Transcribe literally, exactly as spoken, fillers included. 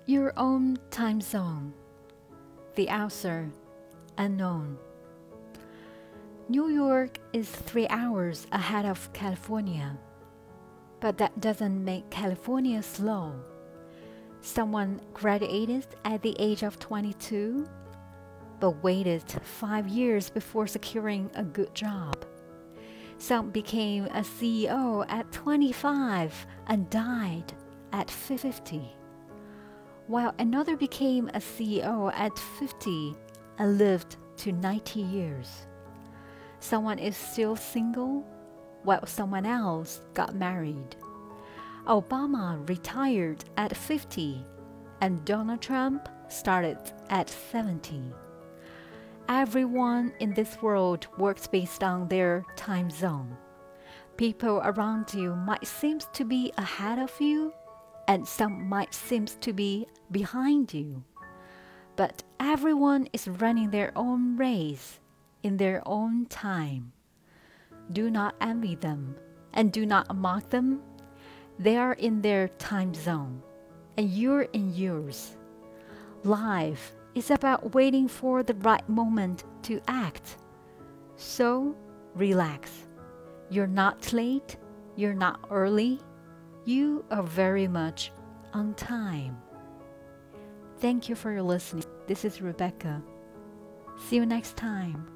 Your own time zone. The answer, unknown. New York is three hours ahead of California, but that doesn't make California slow. Someone graduated at the age of twenty-two, but waited five years before securing a good job. Some became a C E O at twenty-five and died at fifty, while another became a C E O at fifty and lived to ninety years. Someone is still single, while someone else got married. Obama retired at fifty, and Donald Trump started at seventy. Everyone in this world works based on their time zone. People around you might seem to be ahead of you, and some might seem to be behind you. But everyone is running their own race in their own time. Do not envy them, and do not mock them. They are in their time zone, and you're in yours. Life is about waiting for the right moment to act. So, relax. You're not late, you're not early, you are very much on time. Thank you for your listening. This is Rebecca. See you next time.